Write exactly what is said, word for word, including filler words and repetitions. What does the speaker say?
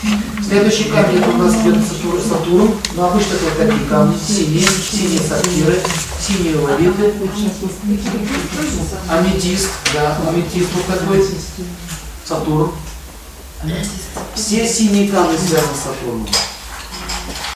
Следующий камень это у нас идет Сатурн. Но обычно это вот такие камни. Синие, синие сапфиры, синие лавиты. Аметист, да, аметист вот такой. Сатурн. Все синие камни связаны с Сатурном.